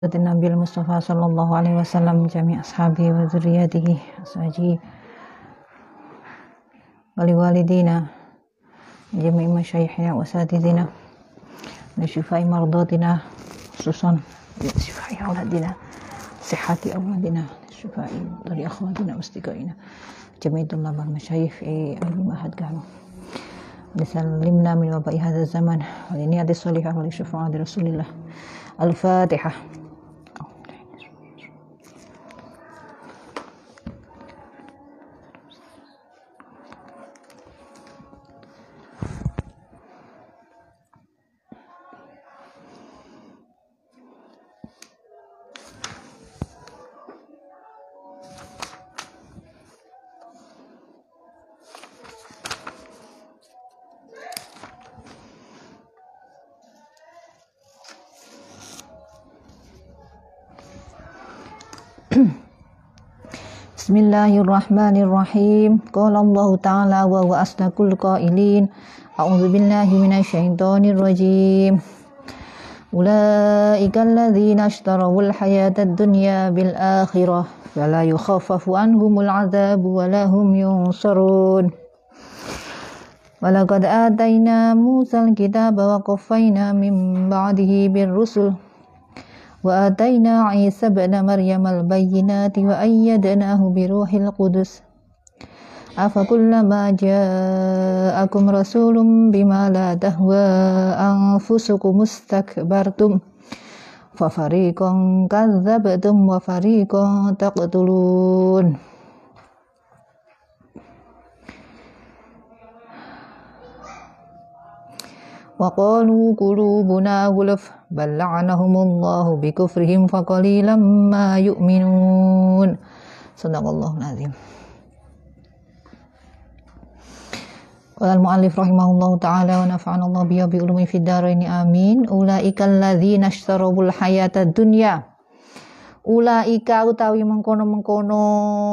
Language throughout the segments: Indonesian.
Nabi Mustafa sallallahu alaihi wasallam jami' ashabi wa dzurriyyatihi ashaji wali walidina jami' masyayikhina wa asatidina wa syufai mardatina khususan syufai auladina sihhati auladina syufai dari akhwatina mustiqaina jami' tullabal masyayikh al-mahad kanu lisallimna min waba'i hadzal zaman wa niyati shalihah wa li syafa'ati rasulillah al-fatihah. Bismillahirrahmanirrahim. Qala Allah Ta'ala wa huwa asdaqul qailin. A'udzu billahi minasyaitonir rajim. Ulaika alladzina ishtarawul hayatad dunya bil akhirah fala yukhaffafu anhumul 'adzabu wa lahum yunsarun. Walaqad atayna Musal kitaba wa qaffayna min ba'dihi bir rusul wa atayna Isa ibn Maryam al-bayyinati wa ayyadnahu bi ruhil qudus afakullama ja'akum rasulun bima la tahwa anfusukum mustakbartum fa fariqan kadzdzabtum wa fariqan taqtulun. Wa qalu qulubuna ghulf bal la'anahumullahu bikufrihim faqalilan ma yu'minun. Shadaqallahul azim. Qala al-mu'allif rahimahullahu ta'ala wa nafa'ana Allah bihi bi ulumi fid dharain amin. Ulaikal ladzina ishtarawul hayatad dunya. Ulaika utawi mengkono-mengkono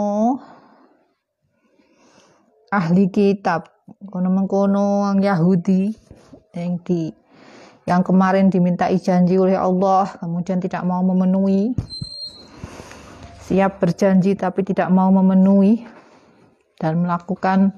ahli kitab, mengkono yang Yahudi yang kemarin dimintai janji oleh Allah kemudian tidak mau memenuhi, siap berjanji tapi tidak mau memenuhi dan melakukan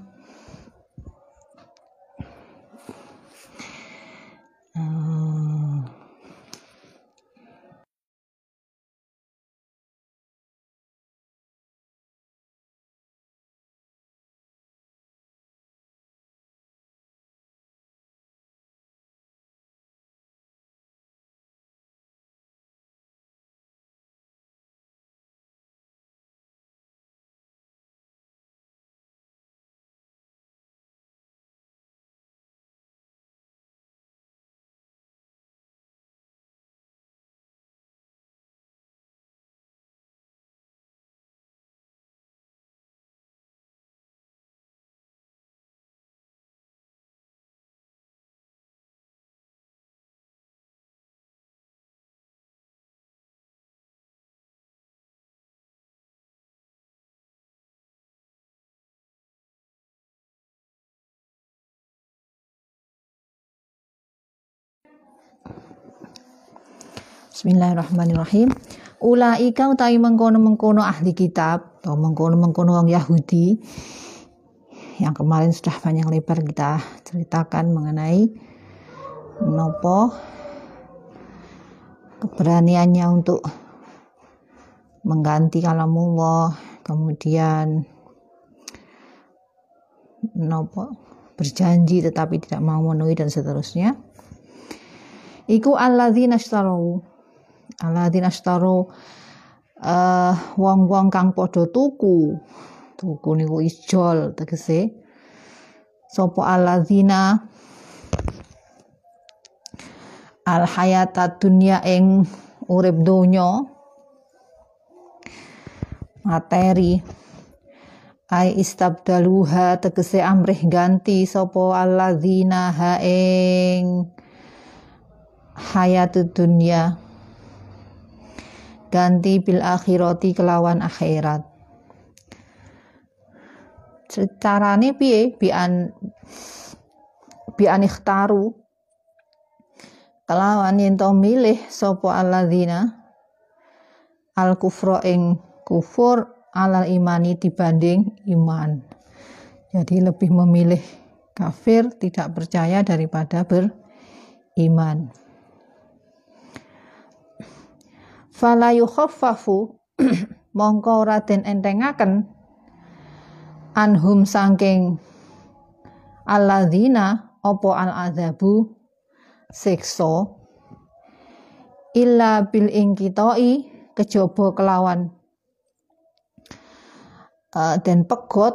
Bismillahirrahmanirrahim. Ulaika utawi mengkono-mengkono ahli kitab atau mengkono-mengkono orang Yahudi yang kemarin sudah panjang lebar kita ceritakan mengenai menopo keberaniannya untuk mengganti kalamullah, kemudian menopo berjanji tetapi tidak mau memenuhi dan seterusnya. Iku alladzina ishtaru wong-wong kang padha tuku niku ijol tegese sapa alladzina al hayatad dunya ing urip donya materi ai istabdaluha tegese amrih ganti sapa alladzina ha ing hayatud dunya ganti bil akhirati kelawan akhirat. Carane piye? Bian ikhtaru kelawan yen to milih sapa alladzina al kufra ing kufur alal imani dibanding iman. Jadi lebih memilih kafir tidak percaya daripada beriman. Fala yukhaffafu mongko ora den entengaken anhum saking alladzina apa al azabu siksa illa bil ingkitoi kejaba kelawan den pegot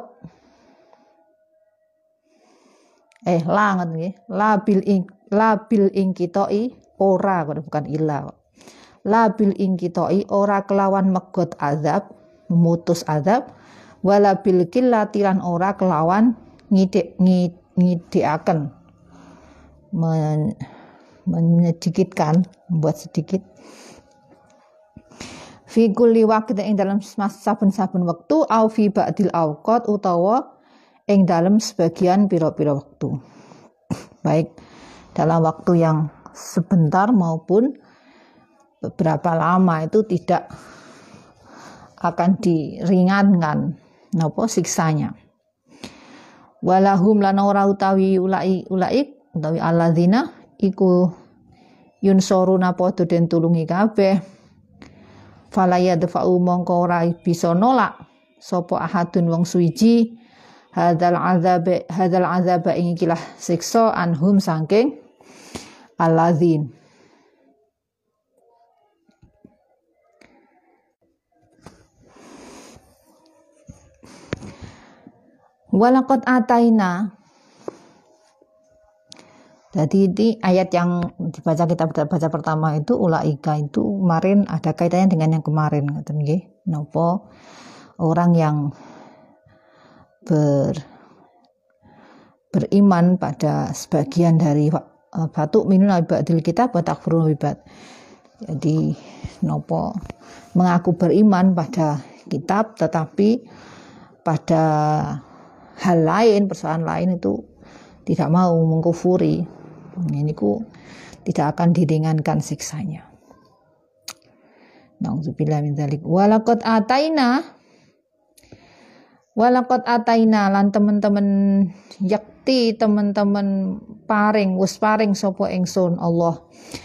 labil ingkitoi ora bukan illa labil ingkitoi ora kelawan megot azab memutus azab wala bil qillati lan ora kelawan ngidikaken menyedikitkan membuat sedikit fi kulli waqtin ing dalam saben-saben wektu au fi ba'dil awqat utawa ing dalam sebagian pira-pira waktu baik dalam waktu yang sebentar maupun beberapa lama itu tidak akan diringankan napa siksanya. Walahum lan ora utawi utawi alladzina iku yunsoruna padha den tulungi kabeh. Fala yadfa'u mongko ora bisa nolak sapa ahadun wong suwiji hadzal azab ing ikilah siksa anhum saking alladzin. Walaqad ataina. Jadi di ayat yang dibaca kita baca pertama itu ulaika itu kemarin ada kaitannya dengan yang kemarin ngoten nggih. Napa orang yang beriman pada sebagian dari batu minun ba'dil kitab wa takfurun ba'd. Jadi napa mengaku beriman pada kitab tetapi pada hal lain, persoalan lain itu tidak mau mengkufuri. Ini ku tidak akan diringankan siksanya. Nauzubillah min dzalik. Walaqad ataina lan teman-teman yakti teman-teman wis paring sapa ingsun Allah.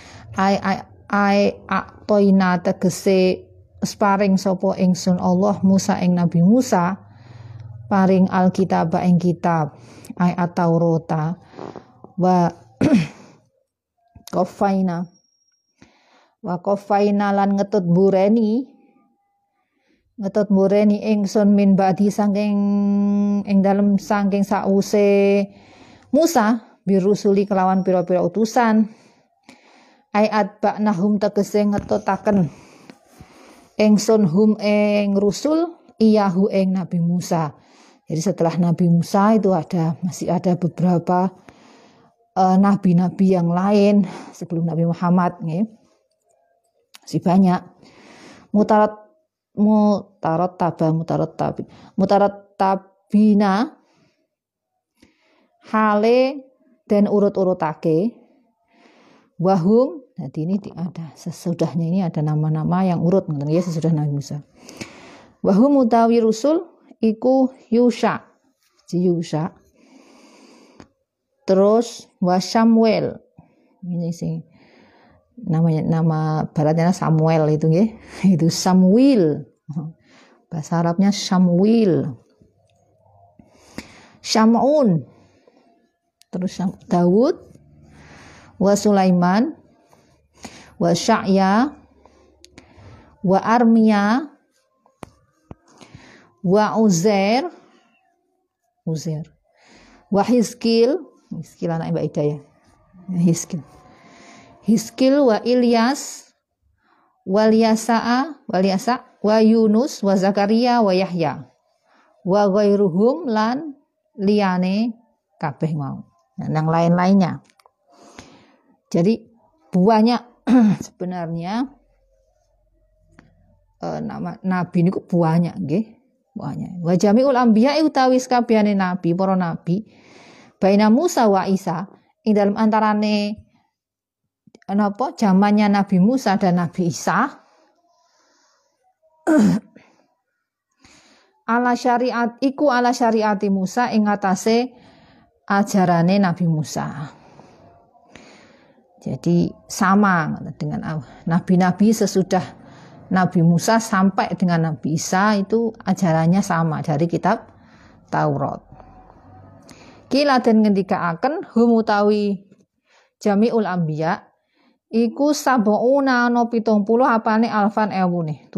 Ai atoina tegese wis paring sapa ingsun Allah Musa ing Nabi Musa paring alkitab ing kitab ai at-taurata wa qafaina lan ngetut mureni ingsun min ba'di saking ing dalem saking sause Musa birusuli kelawan pira-pira utusan ayat ba'nahum tegese ngetutaken ingsun hum ing rusul iyahu ing Nabi Musa. Jadi setelah Nabi Musa itu masih ada beberapa nabi-nabi yang lain sebelum Nabi Muhammad nih. Masih banyak. Mutarattabina hale dan urut-urutake wahum. Jadi ini ada sesudahnya ini ada nama-nama yang urut ya sesudah Nabi Musa. Wahum utawi rusul iku Yusha. Terus Samuel. Ini sih nama baratnya Samuel itu nggih. Itu Samuel. Bahasa Arabnya Samuel. Syamun. Terus Daud wa Sulaiman wa Sya'ya wa Armia wa Uzair wa Hizkil anak Mbak Ida ya Hizkil wa Ilyas wa Yasa wa Yunus wa Zakaria wa Yahya wa ghairuhum lan liyane kabeh mau yang lain-lainnya. Jadi banyak sebenarnya nama nabi niku banyak nggih. Wa jami'ul anbiya utawi sakabehane nabi, para nabi baina Musa wa Isa ing dalam antarane zamannya Nabi Musa dan Nabi Isa ala syariati Musa ing atase ajarane Nabi Musa. Jadi sama dengan nabi-nabi sesudah Nabi Musa sampai dengan Nabi Isa itu ajarannya sama dari kitab Taurat. Kila den ngendikaaken hum utawi jami'ul anbiya iku sab'una ana 70 apane alfan ewune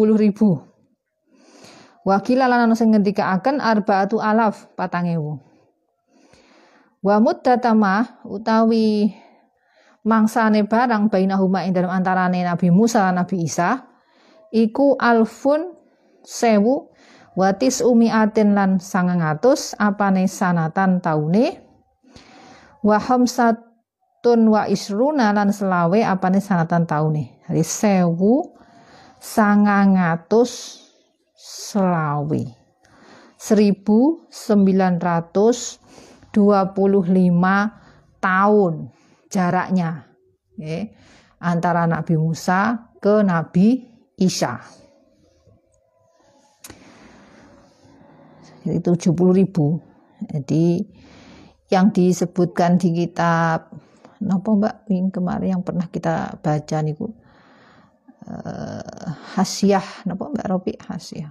70.000. Wakila lan ana sing ngendikaaken arba'atu alaf 4.000. Wa muddatama utawi mangsane barang bainahuma ing dalam antarane Nabi Musa lan Nabi Isa iku alfun 1000 wa tis'umi'atin lan 900 apane sanatan taune wa hamsatun wa isruna lan selawe apane sanatan taune. Jadi 1925 tahun jaraknya antara Nabi Musa ke Nabi Isa. Jadi 70.000. Jadi yang disebutkan di kitab napa Mbak yang kemarin yang pernah kita baca niku Hasyah napa Mbak Robi Hasyah.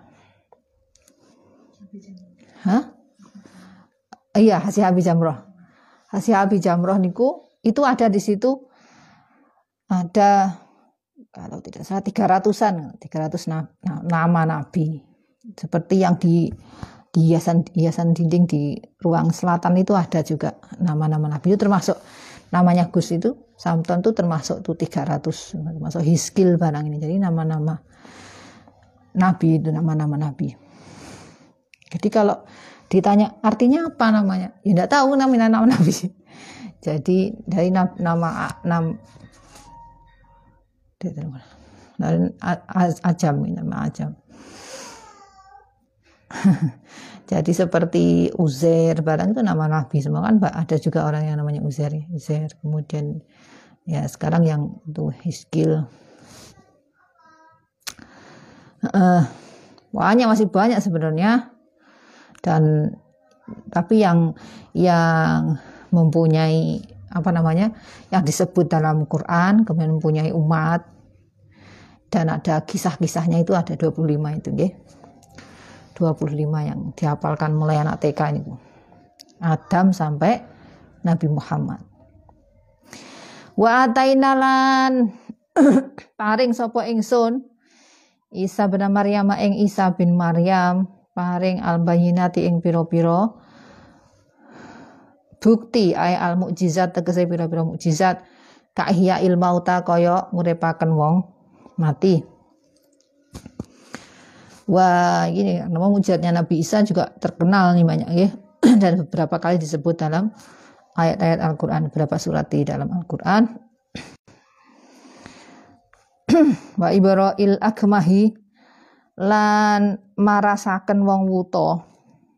Hah? Iya, Hasyah Abi Jamroh. Hasyah Abi Jamroh niku itu ada di situ ada kalau tidak salah 300 nama nabi. Seperti yang di hiasan dinding di ruang selatan itu ada juga nama-nama nabi. Itu termasuk namanya Gus itu Samton itu termasuk tuh 300 termasuk Hiskil barang ini. Jadi nama-nama nabi itu nama-nama nabi. Jadi kalau ditanya artinya apa namanya? Ya enggak tahu nama nabi. Jadi dari nama Ajam, nama Ajam. Jadi seperti Uzair barang itu nama nabi semua kan, ada juga orang yang namanya Uzair. Kemudian ya sekarang yang itu Hiskil. Masih banyak sebenarnya. Dan tapi yang mempunyai yang disebut dalam Quran kemudian mempunyai umat dan ada kisah-kisahnya itu ada 25 itu nggih. 25 yang dihafalkan mulai anak TK ini. Adam sampai Nabi Muhammad. Wa atainalan paring sapa ingsun Isa bin Maryam ing Isa bin Maryam paring al-bayyinati ing pira-pira bukti ay al mukjizat tegese pira-pira mukjizat ka ihya il mauta kaya nguripaken wong mati. Wah, gini nama mukjizatnya Nabi Isa juga terkenal nih banyak ya dan beberapa kali disebut dalam ayat-ayat Al-Qur'an, beberapa surat di dalam Al-Qur'an. Wa ibra'il akmahi lan marasaken wong wuta.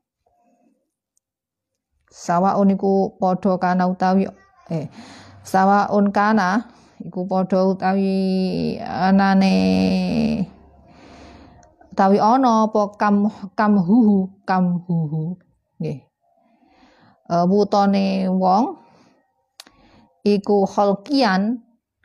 Sawaun iku padha kana utawi sawaun kana iku padha utawi anane utawi ana apa kamhuhu nggih. Wutane wong iku khalqian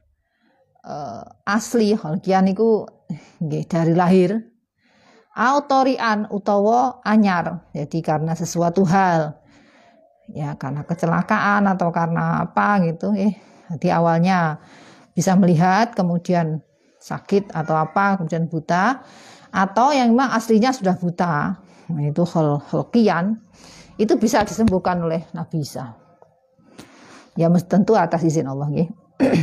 asli khalqian iku nggih dari lahir autorian utawa anyar. Jadi karena sesuatu hal ya karena kecelakaan atau karena apa gitu jadi awalnya bisa melihat kemudian sakit atau apa kemudian buta atau yang memang aslinya sudah buta. Nah, itu khalqian itu bisa disembuhkan oleh Nabi Isa ya tentu atas izin Allah nggih.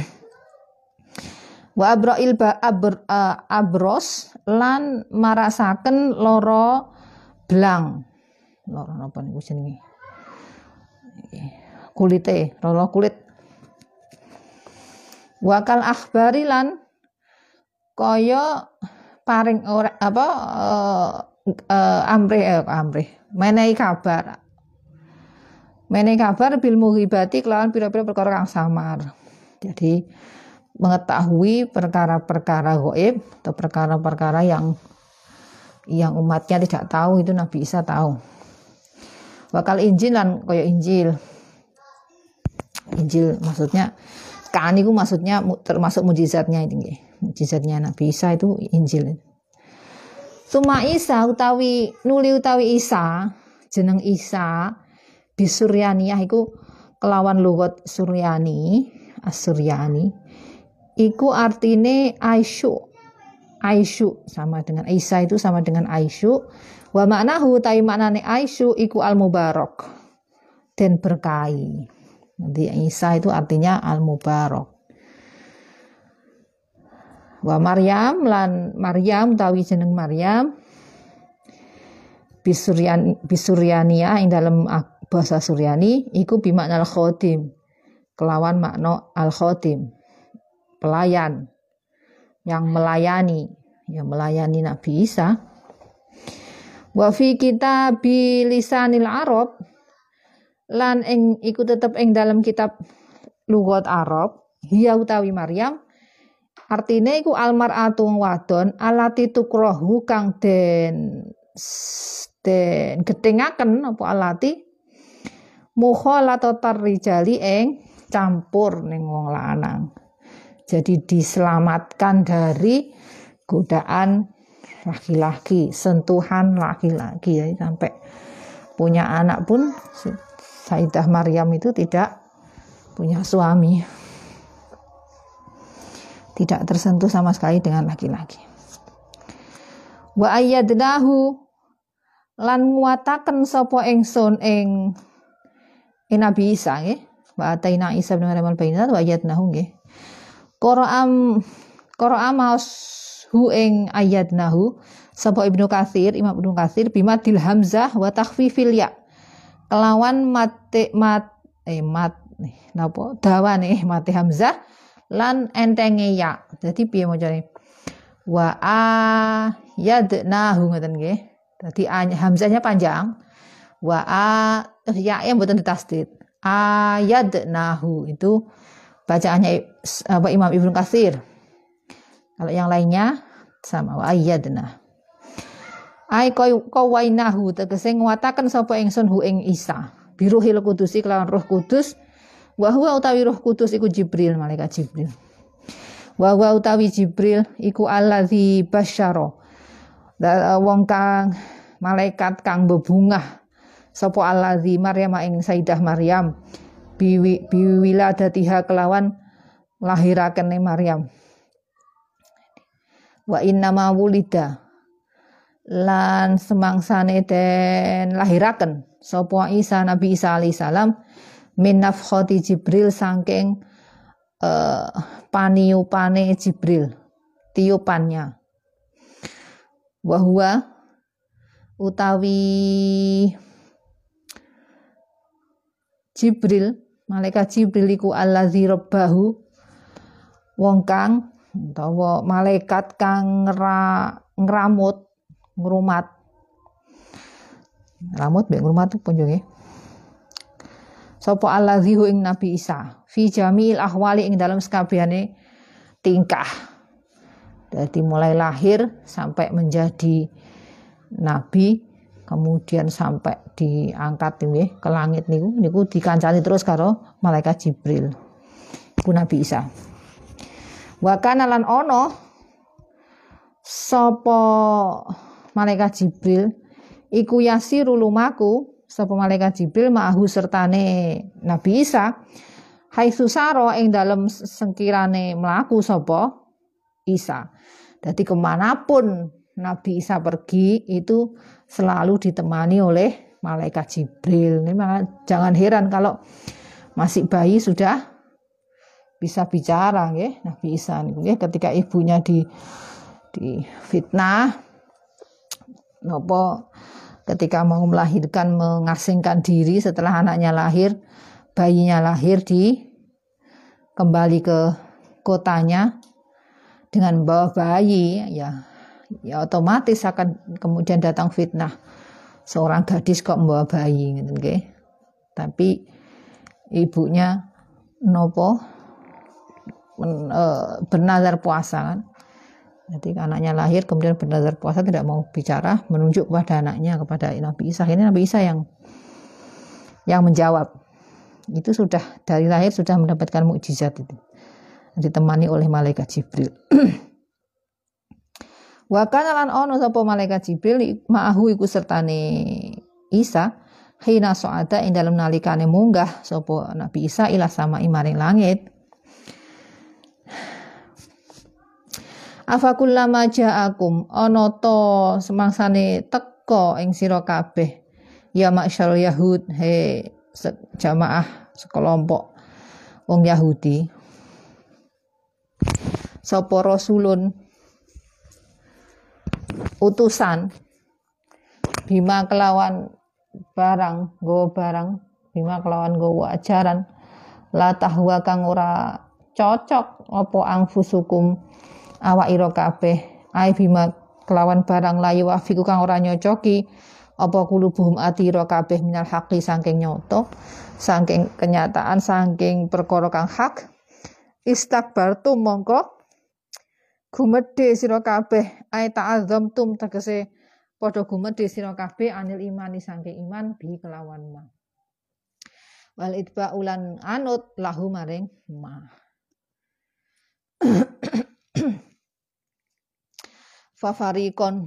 Wa abra'il abros lan marasaken loro blang loro napa niku jenenge kulite loro kulit. Wakal akhbari lan kaya paring ora apa amrih menehi kabar bil mughibati kelawan pira-pira perkara kang samar. Jadi mengetahui perkara-perkara gaib atau perkara-perkara yang yang umatnya tidak tahu itu Nabi Isa tahu. Bakal Injil lan kaya Injil. Injil maksudnya kan itu maksudnya termasuk mujizatnya itu nggih. Mujizatnya Nabi Isa itu Injil. Tuma Isa utawi nuli utawi Isa, jeneng Isa bisuryaniyah iku kelawan lugat Suryani, As-Suryani. Iku artine Aisyu. Aisyu sama dengan Isa itu sama dengan Aisyu. Wa maknahu tai maknane Aisyu iku al-mubarak. Den berkahi. Nanti Isa itu artinya al-mubarak. Wa Maryam lan Maryam utawi jeneng Maryam bisuryaniyah ing dalam bahasa Suryani iku bimakna al-khodim. Kelawan makna al-khodim. Pelayan yang melayani, ya melayani Nabi Isa. Wa fi kitab lisanil Arab lan ing iku tetep ing dalam kitab lugat Arab, hiya utawi Maryam artine iku almar'atu wadon alati tukrohu kang den getingaken apa alati mukhalatatar rijali ing campur ning wong lanang. Jadi diselamatkan dari godaan laki-laki, sentuhan laki-laki ya, sampai punya anak pun Sayyidah Maryam itu tidak punya suami. Tidak tersentuh sama sekali dengan laki-laki. Wa ayyadnahu lan nguataken sapa ingsun ing Nabi Isa nggih. Wa ataina Isa bin Maryam al-bayyinat wa ayyadnahu nggih. Qara'a maus hu ing ayyadnahu sapa Ibnu Katsir, Imam Ibnu Katsir bimadil hamzah wa takhfifil ya. Kelawan dawane mate hamzah lan entenge ya. Dadi piye macane? Wa ayyadnahu ngoten nggih. Dadi hamzahnya panjang. Wa ya mboten ditasdid. Ayyadnahu itu bacaannya Imam Ibnu Katsir. Kalau yang lainnya sama wa ayyadna. Ai qawainahu tegese nguataken sapa ingsun hu ing Isa. Biruhil Qudusi kelawan Roh Kudus. Wa huwa utawi Roh Kudus iku Jibril, malaikat Jibril. Wa huwa utawi Jibril iku allazi basyara. Wong kang malaikat kang bebungah sapa allazi Maryam ing Sayyidah Maryam. Biwiladatiha kelawan lahirakene Maryam. Wa inna ma wulida lan semangsane den lahiraken sapa Isa Nabi Isa alaihi salam min nafkhati Jibril saking paniupane Jibril, tiupannya. Wa huwa utawi Jibril, malaikat Jibril iku allazi rabbahu wong kang utawa malaikat kang ngrumat mbek ngrumat punjunge sapa allazi ing Nabi Isa fi jamil ahwali ing dalam sakabehane tingkah. Dari mulai lahir sampai menjadi nabi, kemudian sampai diangkat ke langit niku dikancani terus karo malaikat Jibril. Iku Nabi Isa. Wa kana lan ono sapa malaikat Jibril iku yasiru lumaku sapa malaikat Jibril ma'ahu sertane Nabi Isa haitsu sara ing dalem sengkirane mlaku sapa Isa. Jadi kemanapun Nabi Isa pergi itu selalu ditemani oleh malaikat Jibril. Ini jangan heran kalau masih bayi sudah bisa bicara nggih Nabi Isa niku nggih ketika ibunya di fitnah napa ketika mau melahirkan mengasingkan diri setelah anaknya lahir, bayinya lahir kembali ke kotanya dengan bawa bayi ya otomatis akan kemudian datang fitnah seorang gadis kok membawa bayi gitu nggih. Tapi ibunya nopo bernazar puasa kan. Jadi anaknya lahir kemudian bernazar puasa tidak mau bicara, menunjuk kepada anaknya, kepada Nabi Isa. Ini Nabi Isa yang menjawab. Itu sudah dari lahir sudah mendapatkan mukjizat itu. Ditemani oleh malaikat Jibril. Wa kana lan ono sapa malaikat Jibril ma'ahu iku sertane Isa hina so'ada ing dalem nalikane munggah sapa Nabi Isa ila sama maring langit. Afakullama ja'akum ana to semangsane teka ing sira kabeh ya ma'syarul yahud he jamaah sekelompok wong Yahudi sapa rasulun utusan bima kelawan barang bima kelawan nggawa ajaran la tahwa kang ora cocok apa angfusukum awak ira kabeh ai bima kelawan barang layu wafiku kang ora nyocoki apa kulubuhum ati ira kabeh minal haqi saking nyoto saking kenyataan saking perkara kang hak istakbartum mongko gumedhe sira kabeh ai ta'azzamtum tegese padha gumedhe sira kabeh anil imani saking iman bi kelawan ma wal itba ulan anut lahu maring ma fafarikon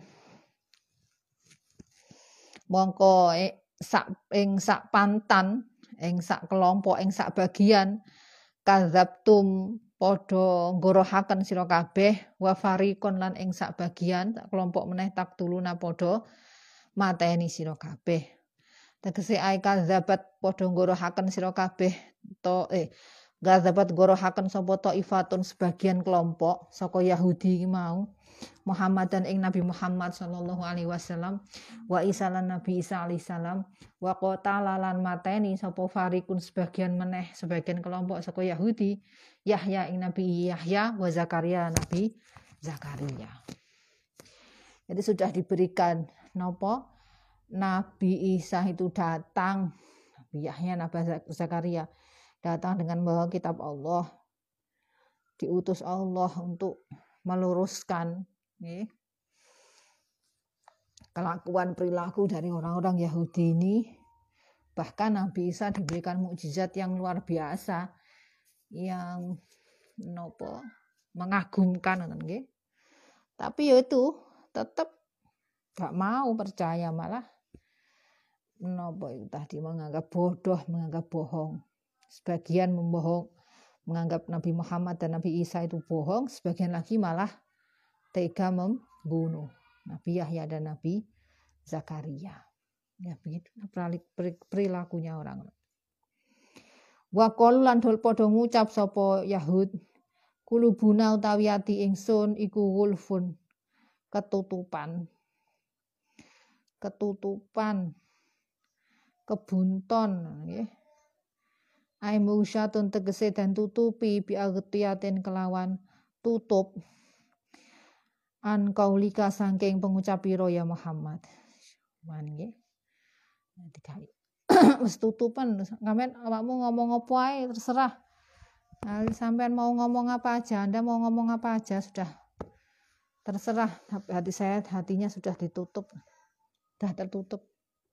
mongko sak pantan ing sak kelompok ing sak bagian kadzabtum padha nggorohaken sira kabeh wa farikon lan ing sak bagian sak kelompok meneh taktuluna padha mateni sira kabeh tegese ai kadzabat padha nggorohaken sira kabeh kadzabat nggorohaken sapa taifatun sebagian kelompok saka Yahudi mau Muhammad dan ing Nabi Muhammad sallallahu alaihi wasallam wa Isa lan Nabi Isa alaihi salam wa qatala lan mateni sapa farikun sebagian meneh sebagian kelompok saka Yahudi Yahya ing Nabi Yahya wa Zakaria Nabi Zakaria. Jadi sudah diberikan Nabi Isa itu datang, Nabi Yahya Nabi Zakaria datang dengan membawa kitab Allah, diutus Allah untuk meluruskan kelakuan perilaku dari orang-orang Yahudi ini. Bahkan Nabi Isa diberikan mukjizat yang luar biasa yang mengagumkan tapi ya itu tetap gak mau percaya, malah itu tadi menganggap bodoh, menganggap bohong. Sebagian menganggap Nabi Muhammad dan Nabi Isa itu bohong, sebagian lagi malah tega membunuh Nabi Yahya dan Nabi Zakaria. Ya begitu perilakunya orang. Wa qalu lan dol padha ngucap sapa Yahud, kulubuna utawi ati ingsun iku wulfun, ketutupan, kebunton nggih. Ai musyatun tegese dan tutupi bi agtiyatin kelawan tutup an kaulika saking pengucap pira ya Muhammad. Nggih. Digawe. Wis tutupan, sampean awakmu ngomong apa ae terserah. Nah, sampean mau ngomong apa aja, Anda mau ngomong apa aja sudah terserah. Hatinya sudah ditutup. Sudah tertutup.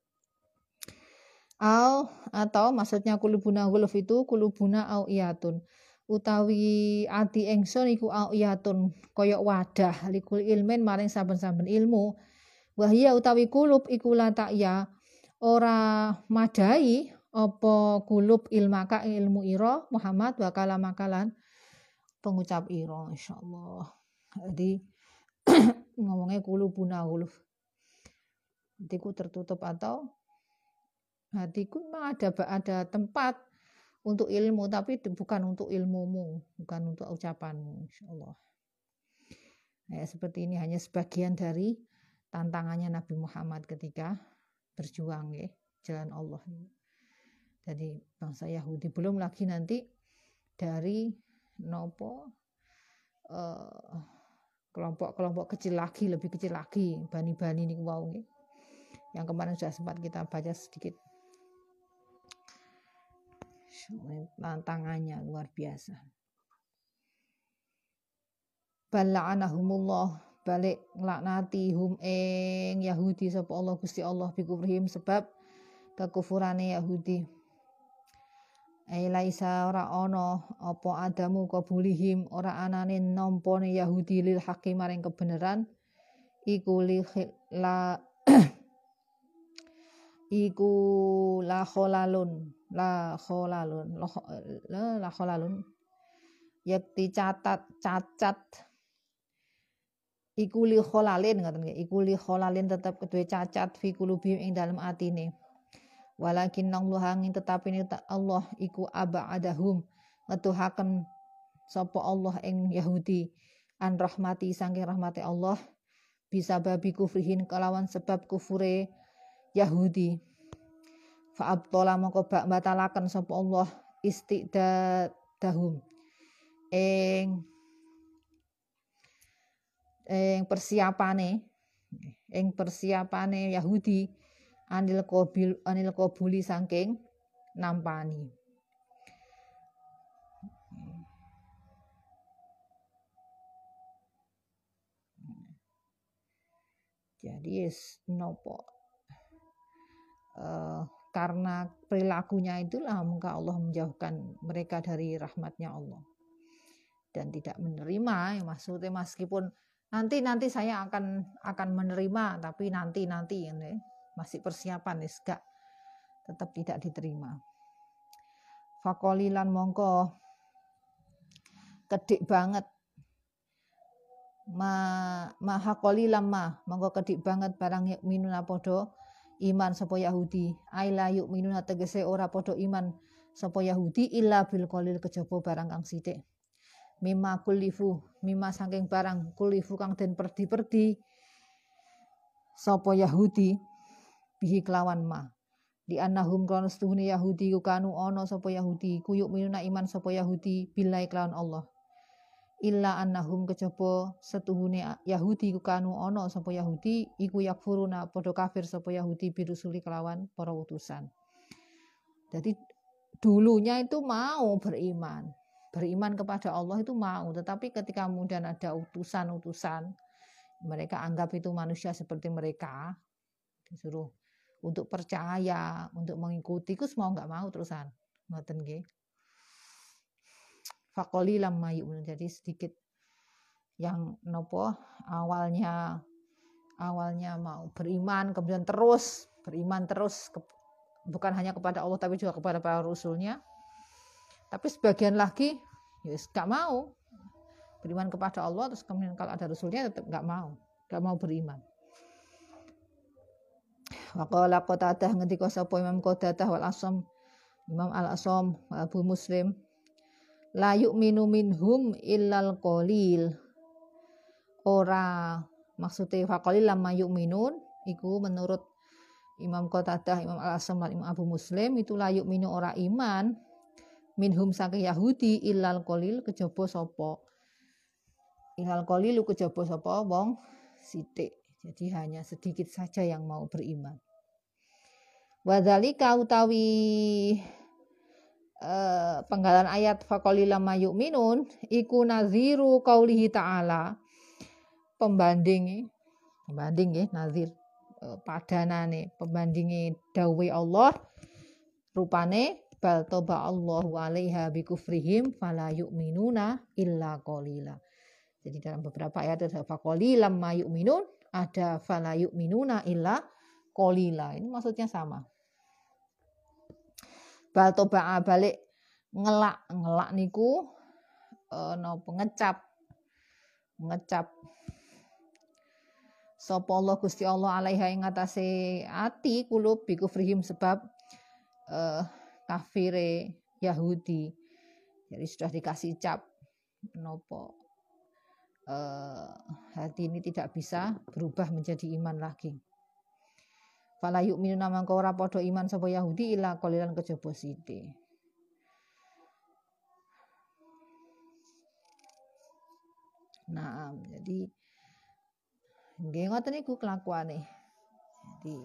Atau maksudnya kulubuna guluf itu kulubuna au iyatun utawi ati ingsun iku au iyatun koyok wadah likul ilmin maring saben-saben ilmu wahya utawi kulub iku latakya ora madai apa kulub ilmaka ilmu ira Muhammad wa kalamakalan pengucap ira insyaallah. Jadi ngomongnya kulubuna guluf hatiku tertutup atau hatiku memang ada tempat untuk ilmu, tapi bukan untuk ilmumu, bukan untuk ucapanmu, insyaallah. Seperti ini hanya sebagian dari tantangannya Nabi Muhammad ketika berjuang jalan Allah. Jadi bangsa Yahudi, belum lagi nanti dari kelompok-kelompok kecil lagi, lebih kecil lagi, bani-bani ini wow yang kemarin sudah sempat kita baca sedikit. Tantangannya luar biasa. bala'anahumullah balik nglaknati hum ing Yahudi sapa Allah Gusti Allah bikufrihim sebab kekufurane Yahudi. Laisa ora ana apa adamu qabulihim ora anane nampane Yahudi lil hakim maring kebenaran iku la iku la kholalun yakti cacat iku li kholalin ngoten nggih iku li kholalin tetep kedue cacat fi qulubihim ing dalem atine walakin Allah angin tetapi Allah iku aba'adahum ngetuhaken sapa Allah ing Yahudi an rahmati saking rahmati Allah bisa babi kufrihin kelawan sebab kufure Yahudi fa abtala mongko batalaken sapa Allah istidadahum ing persiapane Yahudi anil qabuli saking nampani. Jadi nopo karena perilakunya itulah maka Allah menjauhkan mereka dari rahmatnya Allah dan tidak menerima. Maksudnya meskipun nanti saya akan menerima, tapi nanti ini masih persiapan gak tetap tidak diterima. Fakolilan mongko kedik banget maha qalilan mongko kedik banget barang minuna podo iman sapa Yahudi aila yu'minuna tegese ora podo iman sapa Yahudi illa bil qalil kejaba barang kang sithik mimma kulifu mimma saking barang kulifu kang den perdi-perdi sapa Yahudi bihi kelawan di annahum kana setuhune Yahudi kanu ana sapa Yahudi kuyuk minuna iman sapa Yahudi billahi kelawan Allah illa annahum kejaba setuhune Yahudi kanu ana sapa Yahudi iku yakfuruna padha kafir sapa Yahudi birusuli kelawan para utusan. Jadi dulunya itu mau beriman kepada Allah itu mau, tetapi ketika kemudian ada utusan-utusan mereka anggap itu manusia seperti mereka disuruh untuk percaya, untuk mengikuti, kus mau nggak mau terusan ngoten nggih. Faqalilam mayu'minun, jadi sedikit yang nopo awalnya mau beriman kemudian terus beriman bukan hanya kepada Allah tapi juga kepada para rasulnya, tapi sebagian lagi yes nggak mau beriman kepada Allah terus kemudian kalau ada rasulnya tetap nggak mau beriman. Waqala Qatadah ngendika sapa Imam Qatadah wal Asam Imam Al-Asam Abu Muslim la yu'minu minhum illal qalil. Ora maksudnya faqalil lamma yu'minun iku menurut Imam Qatadah, Imam Al-Asam, Imam Abu Muslim itu la yu'minu ora iman minhum saking Yahudi illal qalil kejaba sapa. Illal qalil kejaba sapa wong sithik. Jadi hanya sedikit saja yang mau beriman. Wadzalika utawi penggalan ayat faqalilam mayu'minun iku naziru qaulihi ta'ala pembanding nggih nazir padanane pembandingi dawuh Allah rupane bal toba Allahu 'alaiha bikufrihim fala yu'minuna illa qalila. Jadi dalam beberapa ayat ada faqalilam mayu'minun ada fala yu'minuna illa qalila. Ini maksudnya sama. Bal toba balik ngelak niku napa ngecap sapa Allah Gusti Allah alaiha ing atase ati kulub bikufrihim sebab kafire Yahudi. Jadi sudah dikasih cap napa hati ini tidak bisa berubah menjadi iman lagi. Fala yu'minuna mangko ora padha iman sapa Yahudi illa qalilan kejaba sithik. Nah, jadi nggih ngoten niku kelakuane. Jadi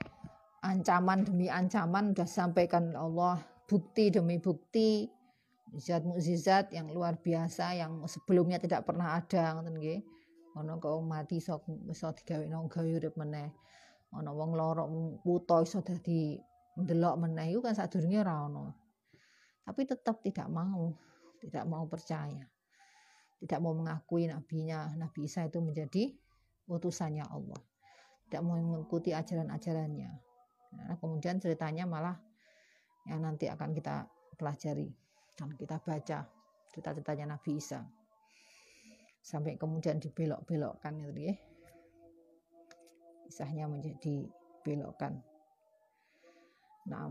ancaman demi ancaman sudah disampaikan Allah, bukti demi bukti mukjizat yang luar biasa yang sebelumnya tidak pernah ada ngoten nggih. Ana kok mati iso digawekno gawe urip meneh. Ana wong lara wuta iso dadi ndelok meneh iku kan sadurunge ora ana. Tapi tetap tidak mau percaya. Tidak mau mengakui Nabi Isa itu menjadi utusannya Allah. Tidak mau mengikuti ajaran-ajarannya. Nah, kemudian ceritanya malah yang nanti akan kita pelajari dan kita baca cerita-ceritanya Nabi Isa. Sampai kemudian dibelok-belokkan gitu ya. Kisahnya menjadi belokkan. Nah,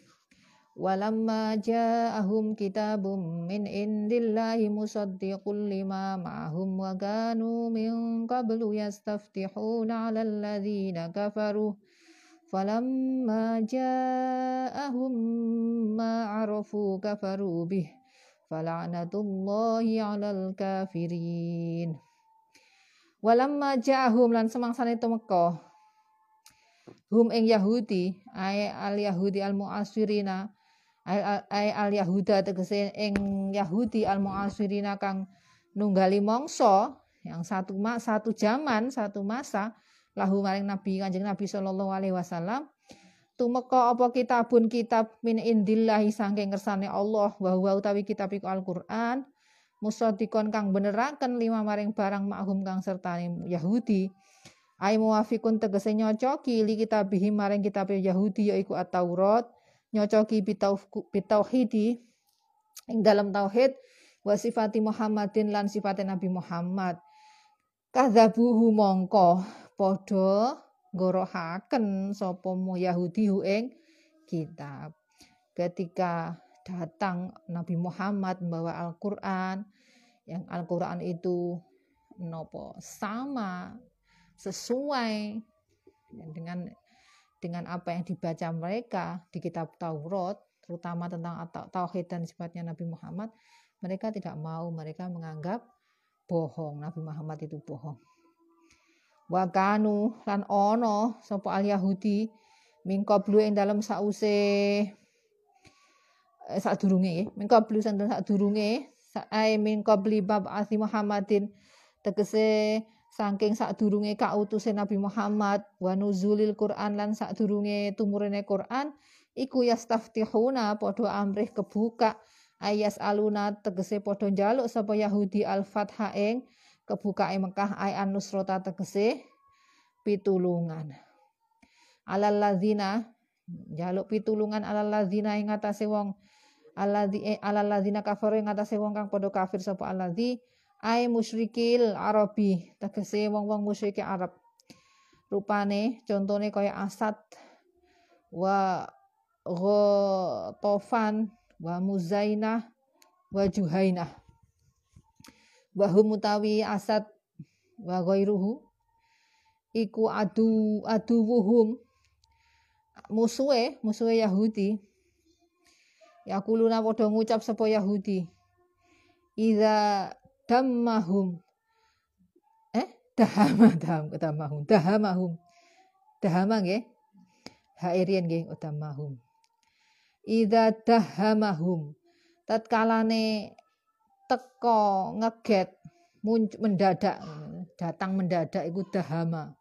walamma ja'ahum kitabum min indillahi musaddiqul lima ma'hum wa kanu min qablu yastaftihuna 'alal ladzina kafaru falamma ja'ahum ma 'arafu kafaru bih fala'natullahi 'alal kafirin. Walamma ja'ahum lan semangsane temeka hum ing Yahudi al Yahudi al mu'asirina al Yahuda tegese ing Yahudi al mu'asirina kang nunggali mangsa yang satu zaman satu masa lahu maring Kanjeng Nabi sallallahu alaihi wasallam tumeka apa kitab min indillahi saking kersane Allah wa huwa utawi kitab iku Al-Qur'an musaddiqon kang beneraken lima maring barang makhum kang sertane Yahudi ai muwafiqun tegese nyocoki li kitabihim maring kitab Yahudi yaiku At-Taurat nyocoki bitauhidi ing dalam tauhid wa sifati Muhammadin lan sifate Nabi Muhammad kadzabuhu mongko padha ngorohaken sapa Yahudi ing kitab ketika datang Nabi Muhammad membawa Al-Qur'an yang Al-Qur'an itu sama sesuai dengan apa yang dibaca mereka di kitab Taurat terutama tentang tauhid dan sifatnya Nabi Muhammad mereka tidak mau, mereka menganggap bohong, Nabi Muhammad itu bohong. Wa kanu lan ono sapa al Yahudi min qablu ing dalem sause sadurunge min qablu sadurunge sae min qabli bab asi Muhammadin tegese saking sadurunge kautuse Nabi Muhammad wa nuzulil Quran lan sadurunge tumurene Quran iku yastaftihuna padha amrih kebuka ayas aluna tegese padha njaluk sapa Yahudi al-Fatha ing kebukae Mekah ay an-nusrata tegese pitulungan alal ladzina njaluk pitulungan alal ladzina ing atase wong alal ladzina kafaru ing atase wong kang padha kafir sapa alladzi ai musyrikil arabi tegese wong-wong musyriki Arab rupane contone kaya Asad wa Ghatafan wa Muzainah wa Juhainah wa hum utawi Asad wa ghairuhu iku aduwuhum musuhe Yahudi yakuluna padha ngucap sapa Yahudi idza dammahum dahama nggih hairian nggih dammahum idza dahamahum tatkalane teko ngeget mendadak datang mendadak iku dahama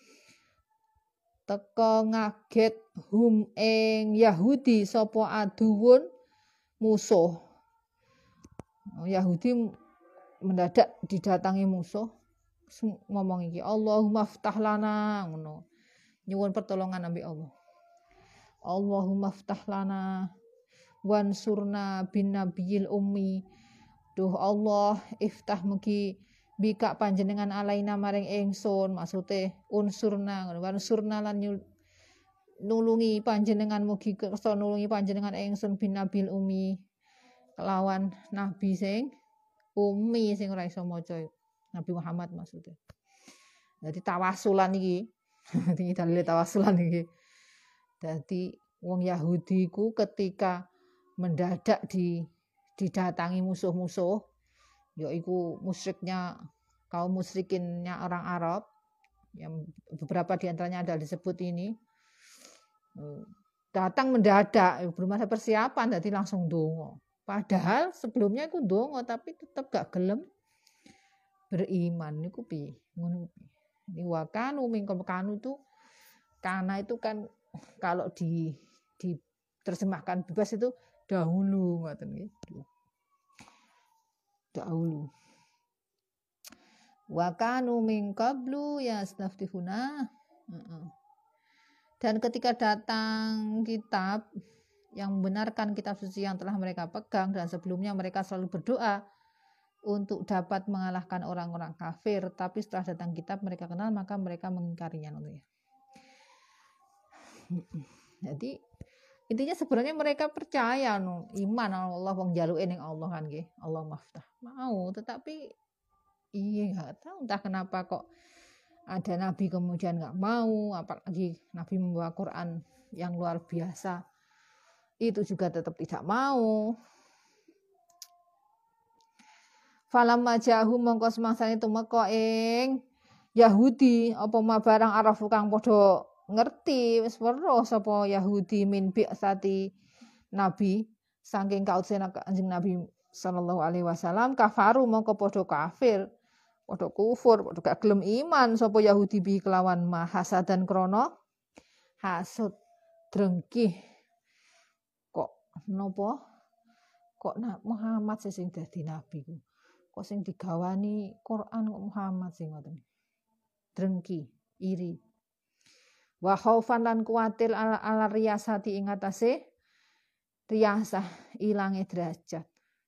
teko ngaget hum ing Yahudi sapa aduwun musuh Yahudi mendadak didatangi musuh ngomong iki Allahumma ftah lana ngono nyuwun pertolongan ambek Allah Allahumma ftah lana wansurna bin nabiyil ummi duh Allah iftah mugi bika panjenengan alaina maring ingsun maksude unsurna wansurna lan nulungi panjenengan mugi kersa nulungi panjenengan ingsun bin nabil ummi kelawan nabi sing ummi sing ora iso maca Nabi Muhammad maksudnya. Jadi tawasulan iki. Iki dalile tawasulan iki. Dadi wong Yahudi ku ketika mendadak didatangi musuh-musuh yaiku musyriknya kaum musyrikinnya orang Arab yang beberapa di antaranya ada disebut ini datang mendadak belum ada persiapan jadi langsung donga Padahal sebelumnya iku ndonga tapi tetep gak gelem beriman niku piye? Ngono piye? Ini wakanu mingkem kanu itu kana itu kan kalau diterjemahkan bebas itu dahulu ngoten nggih. Dahulu. Wakanu min qablu yastaftihuna. Dan ketika datang kitab yang membenarkan kitab suci yang telah mereka pegang dan sebelumnya mereka selalu berdoa untuk dapat mengalahkan orang-orang kafir, tapi setelah datang kitab mereka kenal maka mereka mengingkarinya. Jadi intinya sebenarnya mereka percaya iman Allah wong jaluke ning Allah kan nggih, Allah maftah. Mau, tetapi iya nggak tahu entah kenapa kok ada nabi kemudian nggak mau, apalagi nabi membawa Quran yang luar biasa itu juga tetap tidak mau. Falamma jahu mongko semangsane tumeka ing Yahudi apa ma barang arafu kang padha ngerti wis weruh sapa Yahudi min bi'sati nabi saking kautusan Kanjeng Nabi sallallahu alaihi wasallam kafaru mongko padha kafir padha kufur padha gak gelem iman sapa Yahudi bi kelawan mahasadan krana hasud drengki kok napa kok Muhammad sing dadi nabi ku kok sing digawani Quran kok Muhammad sing ngoten drengki iri wa khaufan lan kuwatir ala riyasati ing atase riyasah ilange derajat.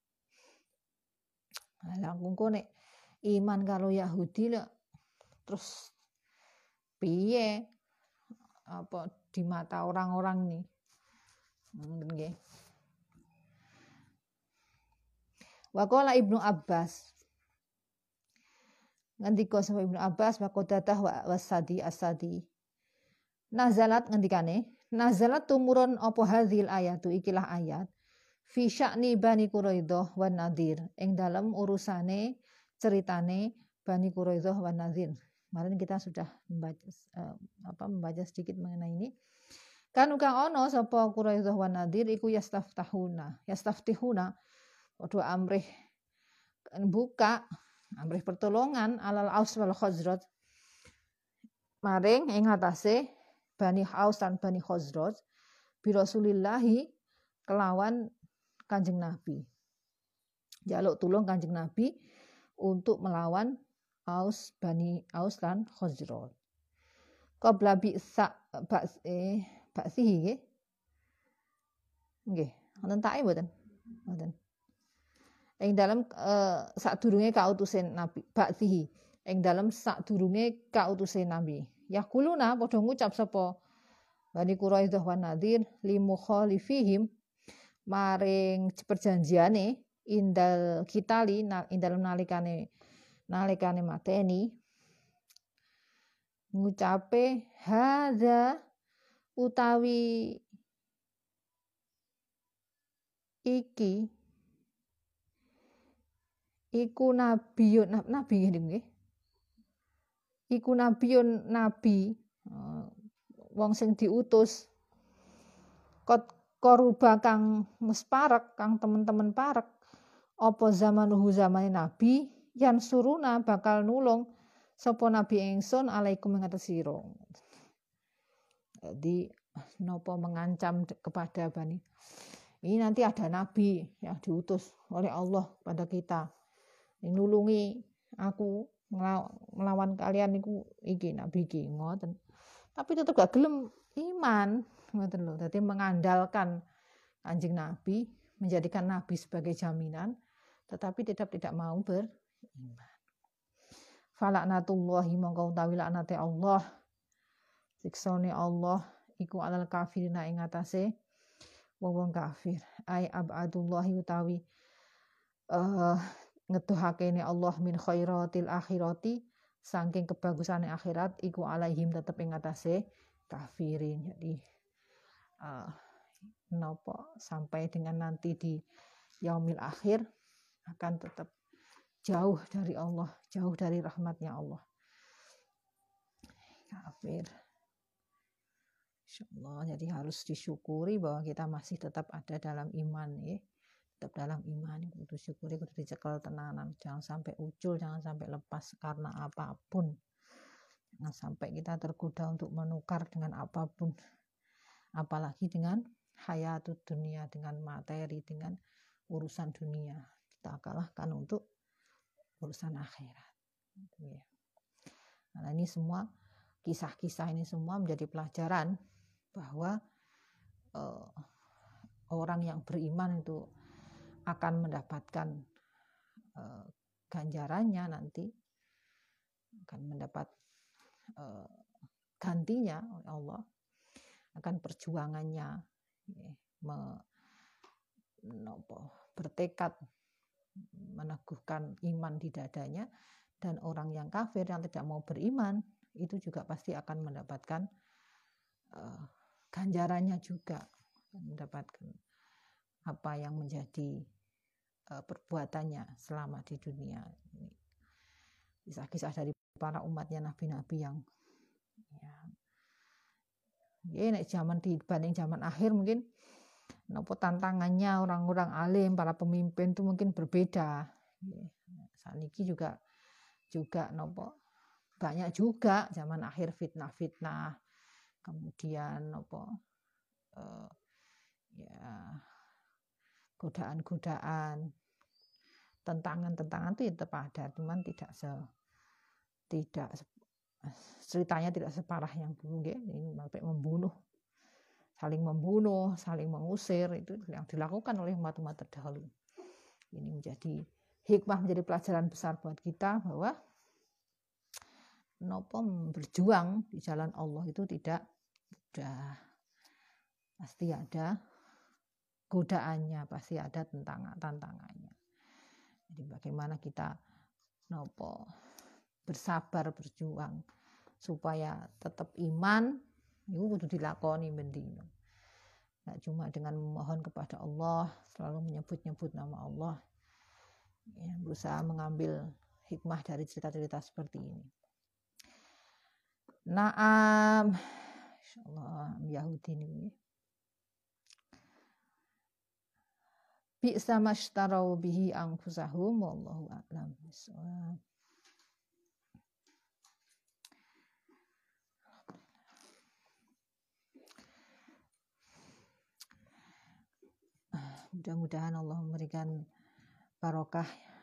Lah engko nek iman karo Yahudi lho terus piye apa di mata orang-orang nih. Nggih. Wa qala Ibnu Abbas ngendika sapa Ibnu Abbas wa qadadah wa wasadi asadi nazalat ngendikane nazalat tumurun apa hadzil ayatu ikilah ayat fi sya'ni Bani Quraidah wan Nadir ing dalam urusane ceritane Bani Quraidah wan Nadir. Kemarin kita sudah membaca sedikit mengenai ini. Kan kang ana sapa Quraidah wan Nadir iku yastaftihuna padha amrih buka amrih pertolongan alal Aus wal Khazraj maring ing atase Bani Aus dan Bani Khazraj bi Rasulillahi kelawan Kanjeng Nabi. Jaluk tulung Kanjeng Nabi untuk melawan Bani Aus dan Khazraj. Qabla bi'sa ba'sihi nggih. Nggih, wonten take mboten? Mboten. Ing dalam sadurunge kautusen Nabi ba'sihi. Ing dalam sadurunge kautusen Nabi. Yaquluna padha ngucap sapa Bani Quraidah wan Nadir limukhalifihim maring perjanjiane indal kitali indal nalikane mateni ngucape hadza utawi iki iku nabiyun nabi nggih iku nabiyun nabi wong sing diutus koruba kang musparek kang temen-temen parek apa zamanuhu zamane nabi yan suruna bakal nulung sapa nabi ingsun alaikum ing atas sira. Jadi napa mengancam kepada Bani ini nanti ada nabi yang diutus oleh Allah pada kita nulungi aku melawan kalian niku iki nabi iki ngoten. Tapi tetap gak gelem iman ngoten lho. Dadi mengandalkan Kanjeng Nabi, menjadikan Nabi sebagai jaminan, tetapi tidak mau beriman. Falaknatullahi mongko utawi laknate Allah. Siksane Allah iku alal kafirina ing atase wong kafir. Ai abadullahi utawi ngeduhakene Allah min khairatil akhirati saking kebagusane akhirat iku alaihim tetep ing atase kafirin. Jadi napa sampai dengan nanti di yaumil akhir akan tetap jauh dari Allah, jauh dari rahmatnya Allah. Kafir. Insyaallah jadi harus disyukuri bahwa kita masih tetap ada dalam iman ya. tetap dalam iman, kudu syukuri, kudu dicekel tenanan, jangan sampai ucul, jangan sampai lepas karena apapun, jangan sampai kita tergoda untuk menukar dengan apapun, apalagi dengan hayatut dunia, dengan materi, dengan urusan dunia. Kita kalahkan untuk urusan akhirat. Nah, ini semua kisah-kisah ini semua menjadi pelajaran bahwa orang yang beriman itu akan mendapatkan ganjarannya nanti, akan mendapat gantinya oleh Allah, akan perjuangannya bertekad meneguhkan iman di dadanya. Dan orang yang kafir yang tidak mau beriman itu juga pasti akan mendapatkan ganjarannya juga, mendapatkan apa yang menjadi perbuatannya selama di dunia. Ini kisah-kisah dari para umatnya nabi-nabi yang nek zaman dibanding zaman akhir mungkin tantangannya orang-orang alim, para pemimpin itu mungkin berbeda. Saat ini juga banyak juga zaman akhir fitnah-fitnah, kemudian godaan-godaan, tentangan-tentangan itu tetap ada, cuman tidak ceritanya tidak separah yang dulu, ini sampai saling membunuh, saling mengusir, itu yang dilakukan oleh umat-umat terdahulu. Ini menjadi hikmah, menjadi pelajaran besar buat kita bahwa berjuang di jalan Allah itu tidak mudah. Pasti ada godaannya, pasti ada tantangannya. Jadi bagaimana kita bersabar berjuang supaya tetap iman itu kudu dilakoni bendino. Nggak cuma dengan memohon kepada Allah, selalu menyebut-nyebut nama Allah, berusaha mengambil hikmah dari cerita-cerita seperti ini. Naam, insyaallah Yahudi ini. Bi'sa mashtarau bihi anfusahum wallahu a'lam bissawab. Mudah-mudahan Allah memberikan barokah,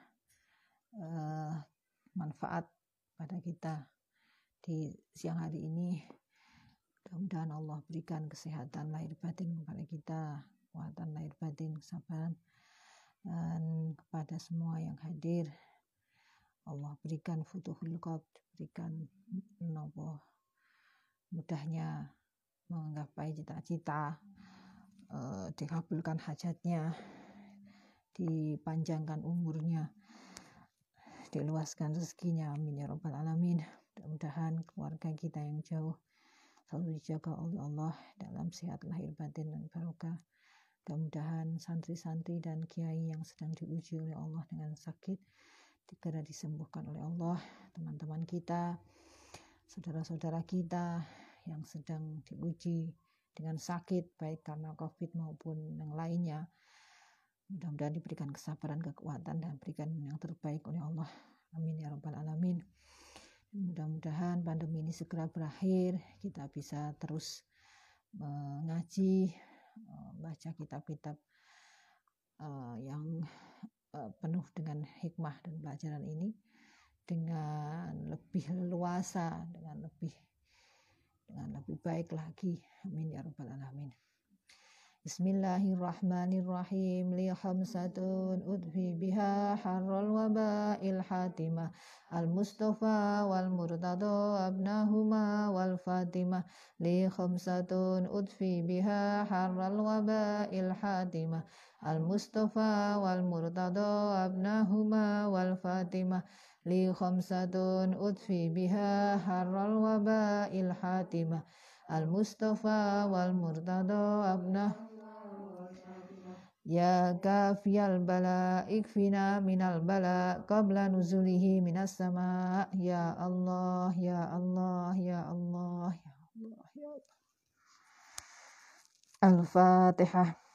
manfaat pada kita di siang hari ini. Mudah-mudahan Allah berikan kesehatan lahir batin kepada kita, kekuatan lahir batin, kesabaran, dan kepada semua yang hadir Allah berikan futuhul qalb, berikan mudahnya menggapai cita-cita, dikabulkan hajatnya, dipanjangkan umurnya, diluaskan rezekinya, amin ya rabbal alamin. Mudah-mudahan keluarga kita yang jauh selalu dijaga oleh Allah dalam sehat lahir batin dan barokah. Mudah-mudahan santri-santri dan kiai yang sedang diuji oleh Allah dengan sakit segera disembuhkan oleh Allah. Teman-teman kita, saudara-saudara kita yang sedang diuji dengan sakit baik karena COVID maupun yang lainnya, mudah-mudahan diberikan kesabaran, kekuatan, dan berikan yang terbaik oleh Allah, amin ya rabbal alamin. Mudah-mudahan pandemi ini segera berakhir, kita bisa terus mengaji, baca kitab-kitab yang penuh dengan hikmah dan pelajaran ini dengan lebih leluasa, dengan lebih baik lagi, amin ya rabbal alamin. Bismillahirrahmanirrahim. Li khamsatun udfi biha harral waba'il hatimah al-mustafa wal murtada abnahuma wal fatimah. Li khamsatun udfi biha harral waba'il hatimah al-mustafa wal murtada abnahuma wal fatimah. Li khamsatun udfi biha harral waba'il hatimah al-mustafa wal murtada abnahuma. Ya kafiyal bala ikfina minal bala qabla nuzulihi minas sama. Ya Allah, ya Allah, ya Allah, ya Allah, ya Allah. Al-Fatihah.